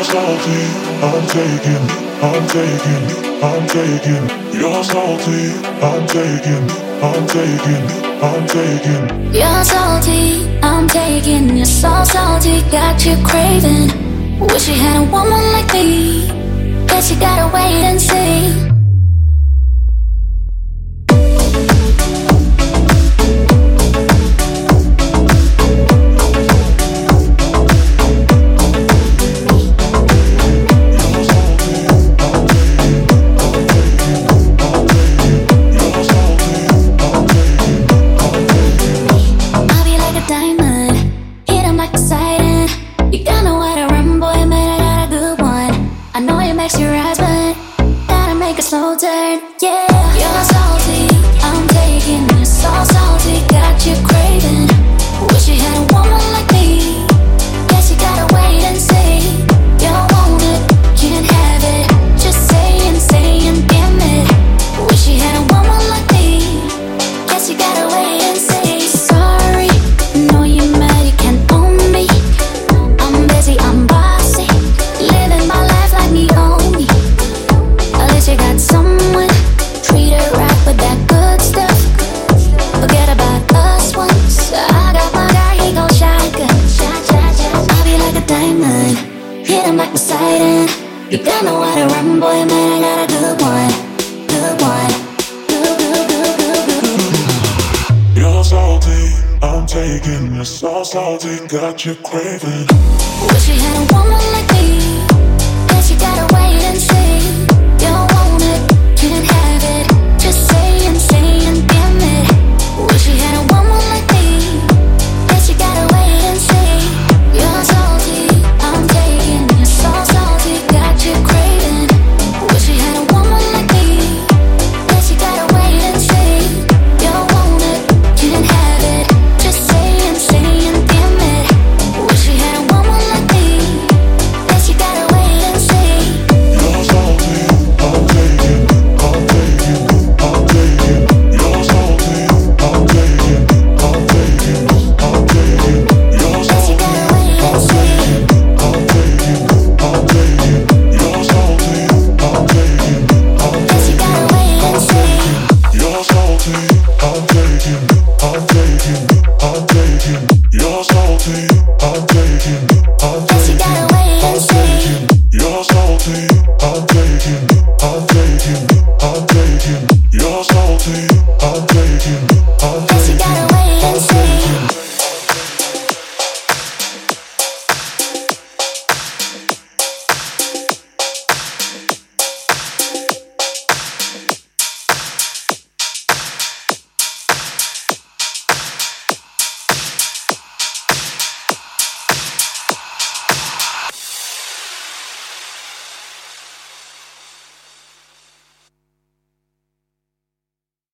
salty, I'm taking, I'm taking, I'm taking. You're salty, I'm taking, I'm taking, I'm taking. You're salty, I'm taking. You're so salty, got you craving. Wish you had a woman like me. Guess you gotta wait and see. Slow turn, yeah. You're salty, I'm taking. You're so salty, got you craving. Wish you had a woman like me. Guess you gotta wait and see. You want it, can't have it. Just saying, damn it. Wish you had a woman like me. Guess you gotta wait and see. Sorry, know you're mad, you can't own me. I'm busy, I'm bossy, living my life like me own me. At least you got someone, treat her right with that good stuff. Forget about us once. I got my guy, he gon' shotgun. I'll be like a diamond, hit him like Poseidon. You got nowhere to run, boy, man, I got a good one. Good one. You're salty, I'm taking. You're so salty, got you craving. Wish you had a woman like me.